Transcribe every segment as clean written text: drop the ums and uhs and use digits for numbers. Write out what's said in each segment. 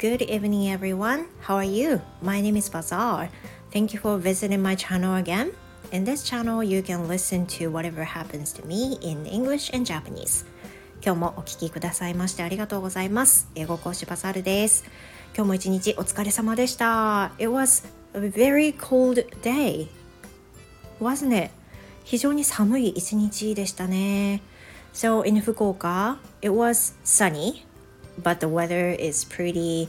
Good evening, everyone. How are you? My name is Bazaar. Thank you for visiting my channel again. In this channel, you can listen to whatever happens to me in English and Japanese. 今日もお聞きくださいましてありがとうございます。英語講師バザールです。今日も一日お疲れ様でした。It was a very cold day, wasn't it? 非常に寒い一日でしたね。So in Fukuoka, it was sunny.But the weather is pretty,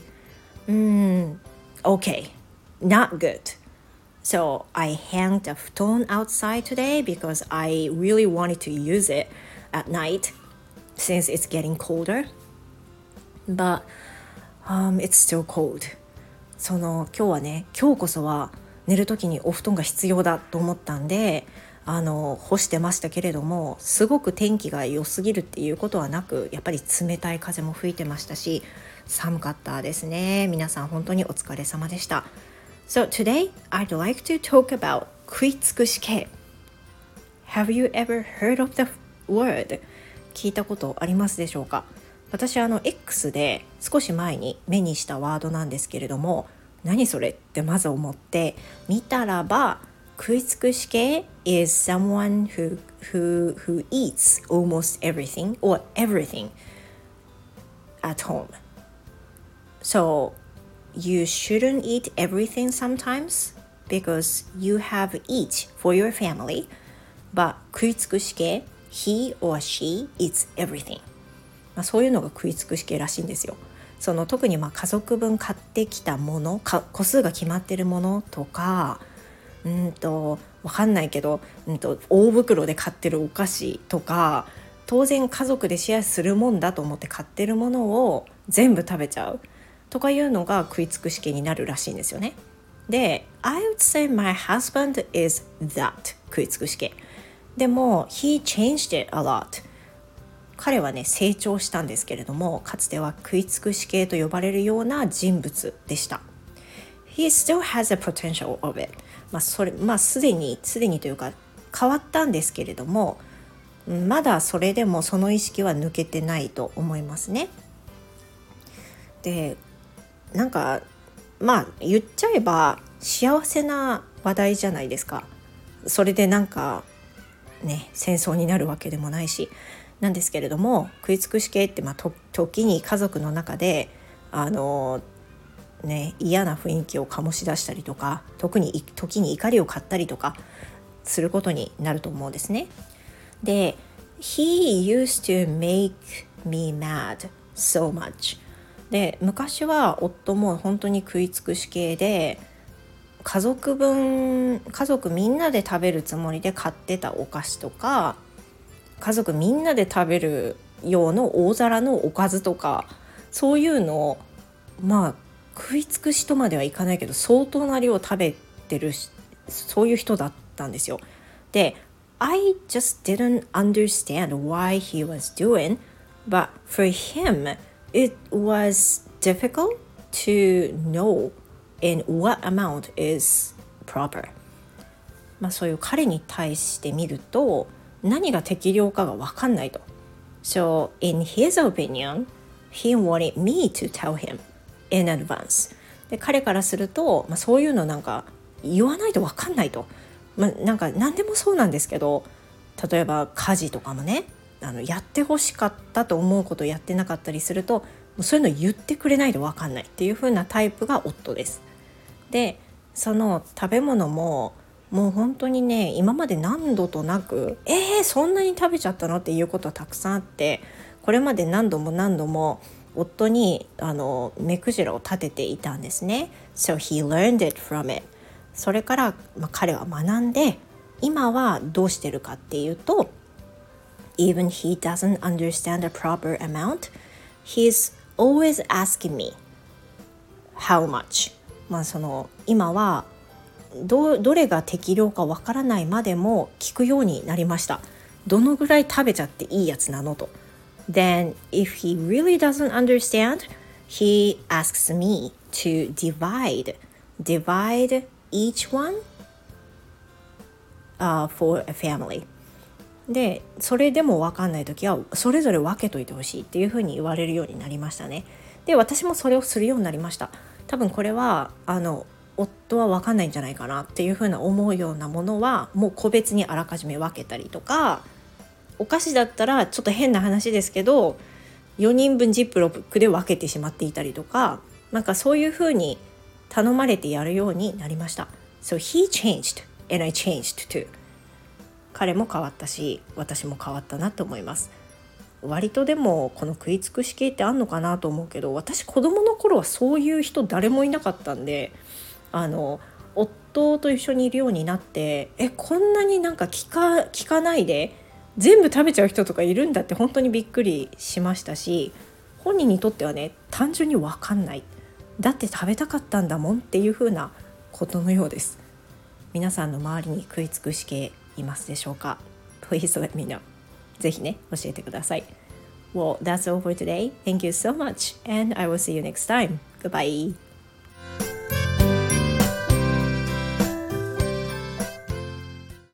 okay, not good. So I hung the futon outside today because I really wanted to use it at night since it's getting colder. But it's still cold. 今日はね、今日こそは寝るときにお布団が必要だと思ったんで、干してましたけれども、すごく天気が良すぎるっていうことはなく、やっぱり冷たい風も吹いてましたし、寒かったですね。皆さん本当にお疲れ様でした。So today I'd like to talk about 食い尽くし系。Have you ever heard of the word? 聞いたことありますでしょうか？私X で少し前に目にしたワードなんですけれども、何それってまず思って見たらば、食い尽くし系 is someone who eats almost everything or everything at home. So you shouldn't eat everything sometimes because you have each for your family. But 食い尽くし系 he or she eats everything. そういうのが食い尽くし系らしいんですよ。特に家族分買ってきたもの、個数が決まってるものとか、わかんないけど、大袋で買ってるお菓子とか、当然家族でシェアするもんだと思って買ってるものを全部食べちゃうとかいうのが食い尽くし系になるらしいんですよね。で、I would say my husband is that 食い尽くし系。でも he changed it a lot。彼はね、成長したんですけれども、かつては食い尽くし系と呼ばれるような人物でした。He still has a potential of it。すでにというか変わったんですけれども、まだそれでもその意識は抜けてないと思いますね。で、言っちゃえば幸せな話題じゃないですか。それで戦争になるわけでもないしなんですけれども、食い尽くし系って時に家族の中で嫌な雰囲気を醸し出したりとか、時に怒りを買ったりとかすることになると思うんですね。で、He used to make me mad so much。で、昔は夫も本当に食い尽くし系で、家族みんなで食べるつもりで買ってたお菓子とか、家族みんなで食べる用の大皿のおかずとか、そういうのを食い尽くしとまではいかないけど相当な量を食べてる、そういう人だったんですよ。で、I just didn't understand why he was doing, but for him it was difficult to know in what amount is proper。そういう彼に対して見ると何が適量かが分かんないと。So in his opinion, he wanted me to tell him in advance。で、彼からすると、そういうの言わないと分かんないと。何でもそうなんですけど、例えば家事とかもね、やってほしかったと思うことをやってなかったりすると、そういうの言ってくれないと分かんないっていう風なタイプが夫です。で、その食べ物ももう本当にね、今まで何度となくそんなに食べちゃったのっていうことはたくさんあって、これまで何度も夫に目くじらを立てていたんですね。So he learned it from it。 それから、彼は学んで、今はどうしてるかっていうと、 Even he doesn't understand the proper amount, he's always asking me how much。今はどれが適量かわからないまでも聞くようになりました。どのぐらい食べちゃっていいやつなのと。Then if he really doesn't understand, he asks me to divide each one for a family。 で、それでも分かんないときはそれぞれ分けといてほしいっていうふうに言われるようになりましたね。 で私もそれをするようになりました。多分これは夫は分かんないんじゃないかなっていうふうな思うようなものはもう個別にあらかじめ分けたりとか、お菓子だったらちょっと変な話ですけど4人分ジップロックで分けてしまっていたりとか、なんかそういうふうに頼まれてやるようになりました。 So he changed and I changed too。 彼も変わったし私も変わったなと思います。割とでもこの食い尽くし系ってあんのかなと思うけど、私子供の頃はそういう人誰もいなかったんで、夫と一緒にいるようになって、こんなになんか聞かないで全部食べちゃう人とかいるんだって本当にびっくりしましたし、本人にとってはね単純に分かんない、だって食べたかったんだもんっていう風なことのようです。皆さんの周りに食い尽くし系いますでしょうか？ Please let me know。 ぜひね教えてください。 Well, that's all for today. Thank you so much and I will see you next time. Goodbye.